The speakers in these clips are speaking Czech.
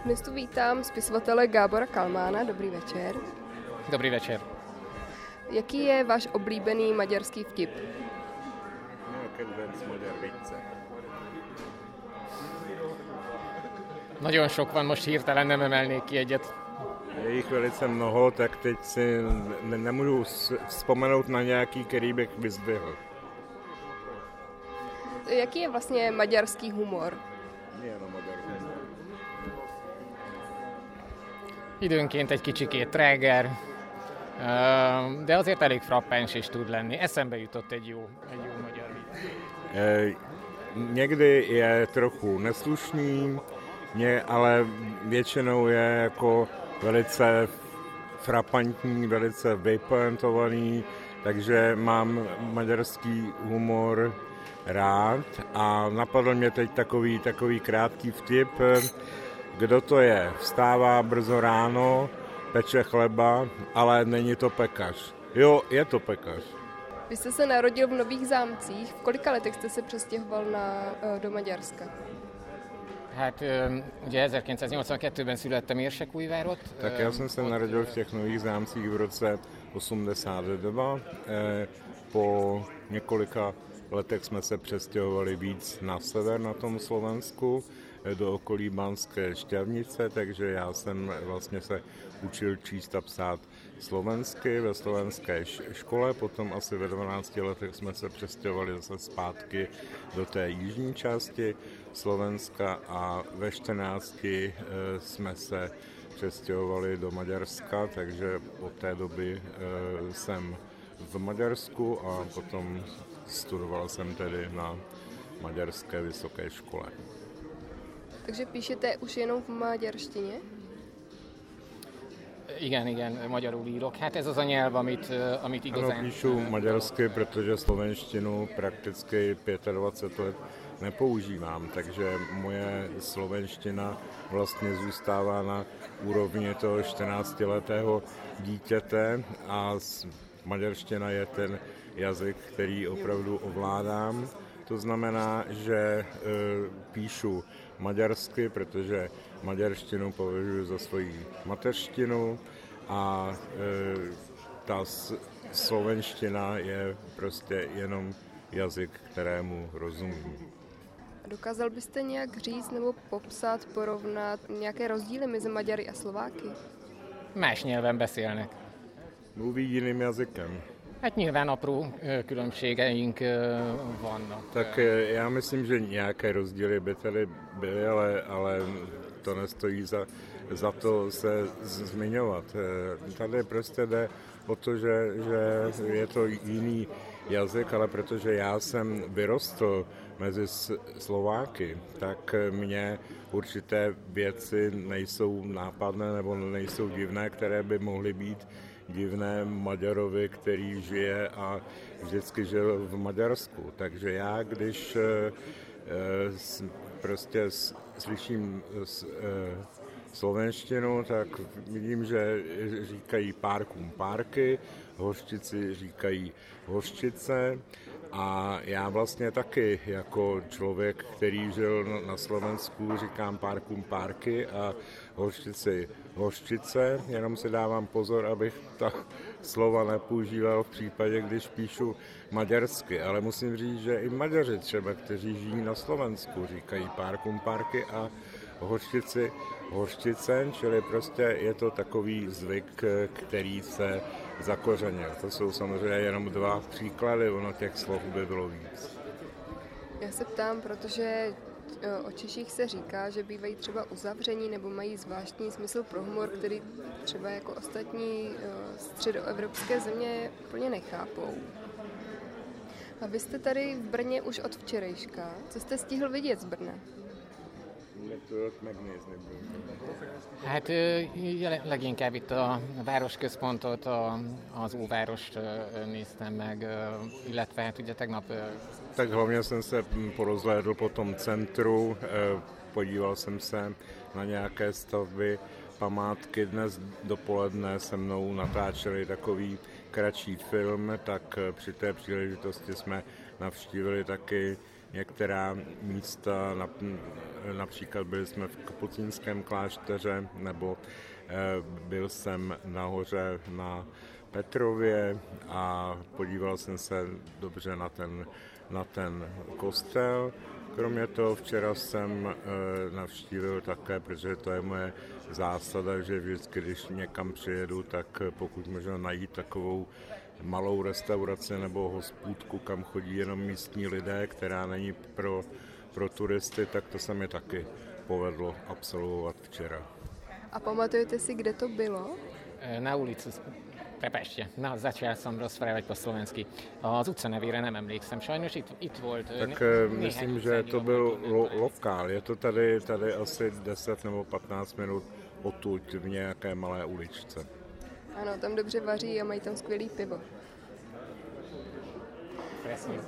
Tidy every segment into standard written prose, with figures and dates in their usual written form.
Dnes tu vítám spisovatele Gábora Kalmána. Dobrý večer. Dobrý večer. Jaký je váš oblíbený maďarský vtip? Kedvenc magyar vicce. Nagyon sok van, most hirtelen nem emelnék ki egyet. Je jich velice mnoho, tak teď si nemůžu vzpomenout na nějaký, který bych vyzdvihl. Jaký je vlastně maďarský humor? Milyen a magyar humor? Időnként egy kicsikét tráger, de azért elég frappáns is tud lenni. Eszembe jutott egy jó magyar vicc. Někdy je trochu neslušný, ale většinou je jako velice frapantní, velice vypointovaný, takže mám maďarský humor rád a napadl mě teď takový krátký vtip. Kdo to je? Vstává brzo ráno, peče chleba, ale není to pekař. Jo, je to pekař. Vy jste se narodil v Nových Zámcích. V kolika letech jste se přestěhoval do Maďarska? Hát ugye 1982-ben születtem Érsekújvárott. Tak já jsem se narodil v těch Nových Zámcích v roce 82. Po několika letech jsme se přestěhovali víc na sever na tom Slovensku, do okolí Banské Štiavnice, takže já jsem vlastně se učil číst a psát slovensky ve slovenské škole, potom asi ve 12 letech jsme se přestěhovali zase zpátky do té jižní části Slovenska a ve 14 jsme se přestěhovali do Maďarska, takže od té doby jsem v Maďarsku a potom studoval jsem tedy na maďarské vysoké škole. Takže píšete už jenom v maďarštině? Igen, magyarul írok. Hát ez az a nyelv, amit igazán... Ano, píšu maďarsky, protože slovenštinu prakticky 25 let nepoužívám, takže moje slovenština vlastně zůstává na úrovni toho 14letého dítěte a maďarština je ten jazyk, který opravdu ovládám. To znamená, že píšu maďarsky, protože maďarštinu považuji za svoji mateřštinu a ta slovenština je prostě jenom jazyk, kterému rozumím. Dokázal byste nějak říct nebo popsat, porovnat nějaké rozdíly mezi Maďary a Slováky? Más nyelven beszélnek. Mluví jiným jazykem. Hát nyilván apró különbségeink vannak. Tak já myslím, že nějaké rozdíly by tady byly, ale to nestojí za to se zmiňovat. Tady prostě jde o to, že je to jiný jazyk, ale protože já jsem vyrostl mezi Slováky, tak mně určité věci nejsou nápadné nebo nejsou divné, které by mohly být divné Maďarovi, který žije a vždycky žil v Maďarsku. Takže já, když prostě slyším slovenštinu, tak vidím, že říkají párkům párky, hořčici říkají hořčice a já vlastně taky jako člověk, který žil na Slovensku, říkám párkům párky a hořčici hořčice, jenom si dávám pozor, abych ta slova nepoužíval v případě, když píšu maďarsky, ale musím říct, že i Maďaři třeba, kteří žijí na Slovensku, říkají párkům párky a hořčici hořčice, čili prostě je to takový zvyk, který se zakořenil. To jsou samozřejmě jenom dva příklady, ono těch slov by bylo víc. Já se ptám, protože o Češích se říká, že bývají třeba uzavření nebo mají zvláštní smysl pro humor, který třeba jako ostatní středoevropské země úplně nechápou. A vy jste tady v Brně už od včerejška. Co jste stihl vidět z Brna? Hát leginkább itt a városközpontot, az óvárost néztem meg, illetve hát ugye tegnap... Tak hlavně jsem se porozhlédl po tom centru, podíval jsem se na nějaké stavby, památky. Dnes dopoledne se mnou natáčeli takový kratší film, tak při té příležitosti jsme navštívili taky některá místa, například byli jsme v kapucínském klášteře, nebo byl jsem nahoře na Petrově a podíval jsem se dobře na ten kostel. Kromě toho včera jsem navštívil také, protože to je moje zásada, že vždycky, když někam přijedu, tak pokud možno najít takovou malou restauraci nebo hospůdku, kam chodí jenom místní lidé, která není pro turisty, tak to se mi taky povedlo absolvovat včera. A pamatujete si, kde to bylo? Na ulici. Prepačte, začal som rozprávať po slovensky. Az utca nevére nem emlékszem, sajnos itt volt. Tak myslím, že to byl lokál. Je to tady asi 10 nebo 15 minut odtud v nějaké malé uličce. Ano, tam dobře vaří a mají tam skvělý pivo. Presne.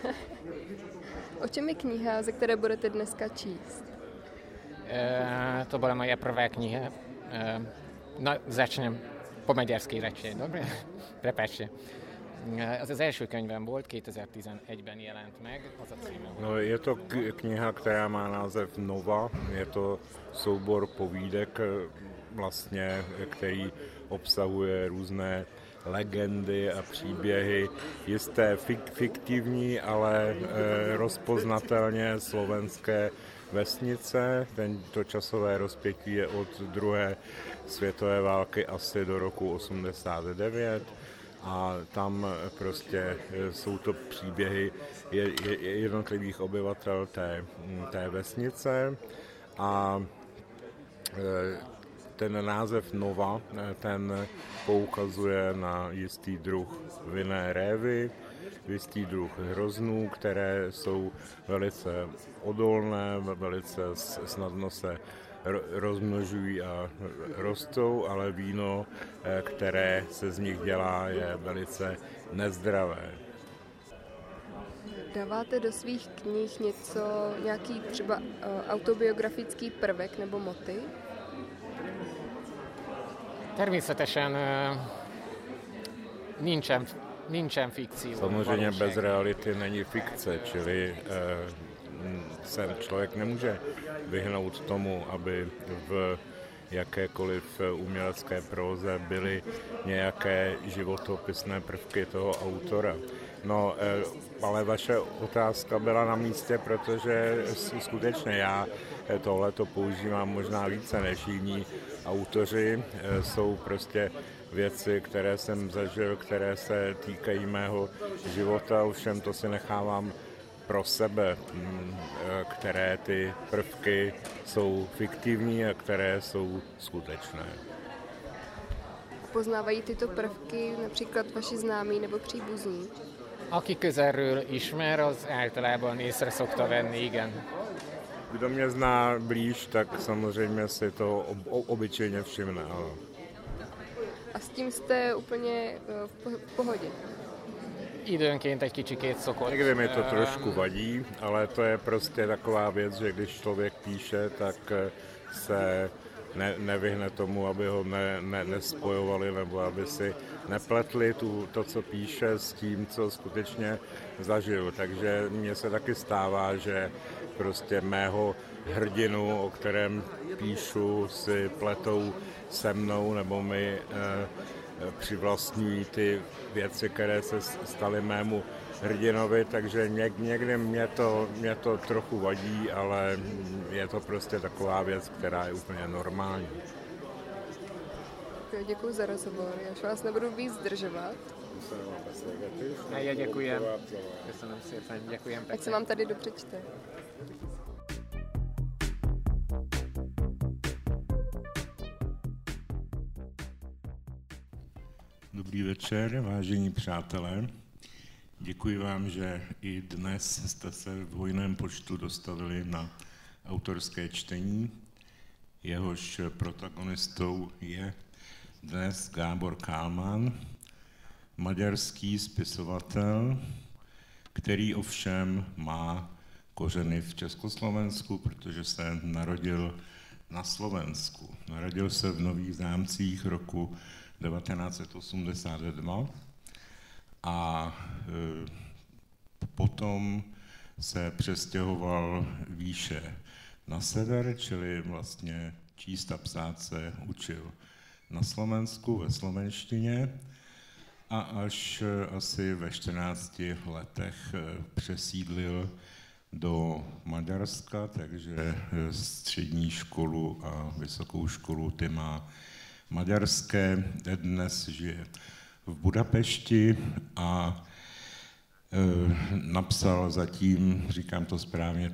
O čem je kniha, ze které budete dneska číst? To bola moja prvá kniha. No, začnem po maďarsky radšej, dobre? Prepáčte. Az első könyvem volt, 2011-ben jelent meg, az a címe. No, je to kniha, která má název Nova, je to soubor povídek vlastně, který obsahuje různé legendy a příběhy, jisté fiktivní, ale rozpoznatelně slovenské vesnice. Tento časové rozpětí je od druhé světové války asi do roku 89 a tam prostě jsou to příběhy jednotlivých obyvatel té vesnice a ten název Nova, ten poukazuje na jistý druh vinné révy, jistý druh hroznů, které jsou velice odolné, velice snadno se rozmnožují a rostou, ale víno, které se z nich dělá, je velice nezdravé. Dáváte do svých knih nějaký třeba autobiografický prvek nebo motiv? Természetesen nincsen fikció. Samozřejmě bez reality není fikce, čili se člověk nemůže vyhnout tomu, aby v jakékoliv umělecké próze byly nějaké životopisné prvky toho autora. No, ale vaše otázka byla na místě, protože skutečně já tohleto používám možná více než jiní autoři. Jsou prostě věci, které jsem zažil, které se týkají mého života, ovšem to si nechávám pro sebe, které ty prvky jsou fiktivní a které jsou skutečné. Poznávají tyto prvky například vaši známí nebo příbuzní? Aki közelről ismer, az általában észre szokta venni, igen. Kdo mě zná blíž, tak samozřejmě si to obyčejně všimne. Ano. A s tím jste úplně v pohodě? Időnként egy kicsikét szokott. Někdy mi to trošku vadí, ale to je prostě taková věc, že když člověk píše, tak se nevyhne tomu, aby ho nespojovali nebo aby si nepletli to, co píše, s tím, co skutečně zažil. Takže mně se taky stává, že prostě mého hrdinu, o kterém píšu, si pletou se mnou nebo mi přivlastňují ty věci, které se staly mému hrdinovi, takže někdy mě to trochu vadí, ale je to prostě taková věc, která je úplně normální. Děkuji za rozhovor, já už vás nebudu víc zdržovat. Ja děkujem. Köszönöm szépen, děkujem pekne. Ať se vám tady dobře čte. Dobrý večer, vážení přátelé. Děkuji vám, že i dnes jste se v hojném počtu dostavili na autorské čtení. Jehož protagonistou je dnes Gábor Kálmán, maďarský spisovatel, který ovšem má kořeny v Československu, protože se narodil na Slovensku. Narodil se v Nových Zámcích roku 1982 a potom se přestěhoval výše na sever, čili vlastně číst a psát se učil na Slovensku ve slovenštině a až asi ve 14 letech přesídlil do Maďarska, takže střední školu a vysokou školu ty má maďarské. Dnes žije v Budapešti a napsal zatím, říkám to správně,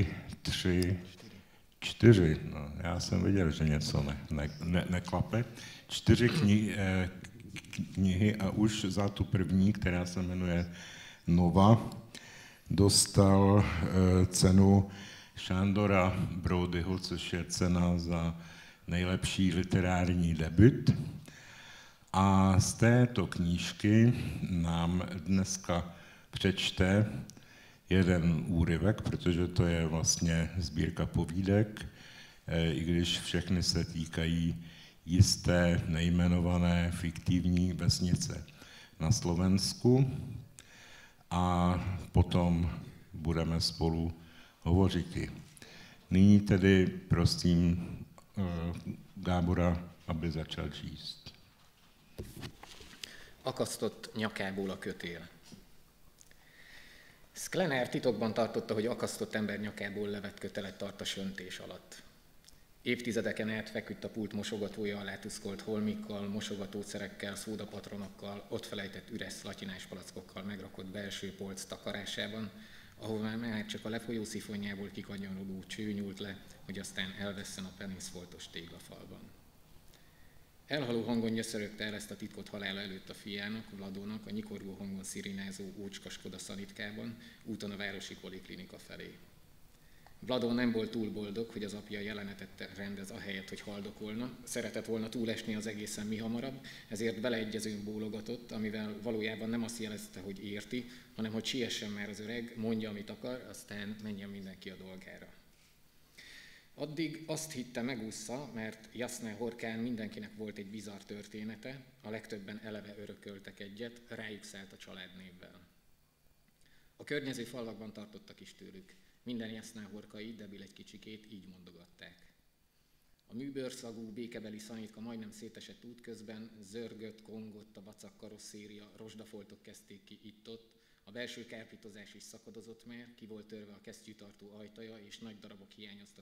čtyři. No, já jsem viděl, že něco neklape. 4 knihy a už za tu první, která se jmenuje Nova, dostal cenu Sándora Brodyho, což je cena za nejlepší literární debut. A z této knížky nám dneska přečte jeden úryvek, protože to je vlastně sbírka povídek, i když všechny se týkají jisté nejmenované fiktivní vesnice na Slovensku. A potom budeme spolu hovořit. Nyní tedy prosím Gábora, aby začal číst. Akasztott nyakából a kötél. Sklener titokban tartotta, hogy akasztott ember nyakából levett kötelet tart a söntés alatt. Évtizedeken át feküdt a pult mosogatója alá tuszkolt holmikkal, mosogatószerekkel, szódapatronokkal, ott felejtett üres szlatyinás palackokkal megrakott belső polc takarásában, ahová már csak a lefolyó szifonjából kikanyarodó cső nyúlt le, hogy aztán elvesszen a peniszfoltos téglafalban. Elhaló hangon nyöszörögte el ezt a titkot halála előtt a fiának, Vladónak, a nyikorgó hangon szirénázó ócskaskoda szanitkában, úton a városi poliklinika felé. Vladó nem volt túl boldog, hogy az apja jelenetet rendez ahelyett, hogy haldokolna. Szeretett volna túlesni az egészen mihamarabb, ezért beleegyezőn bólogatott, amivel valójában nem azt jelezte, hogy érti, hanem hogy siessen már az öreg, mondja, amit akar, aztán menjen mindenki a dolgára. Addig azt hitte, megúszza, mert Jasná Horkán mindenkinek volt egy bizarr története, a legtöbben eleve örököltek egyet, rájuk szállt a családnévvel. A környező falvakban tartottak is tőlük. Minden Jasná Horkai, debil egy kicsikét, így mondogatták. A műbőrszagú, békebeli szanitka majdnem szétesett útközben, zörgött, kongott a vacak karosszéria, rozsdafoltok kezdték ki itt-ott, a belső kárpitozás is szakadozott már, ki volt törve a kesztyűtartó ajtaja, és nagy darabok hiányoztak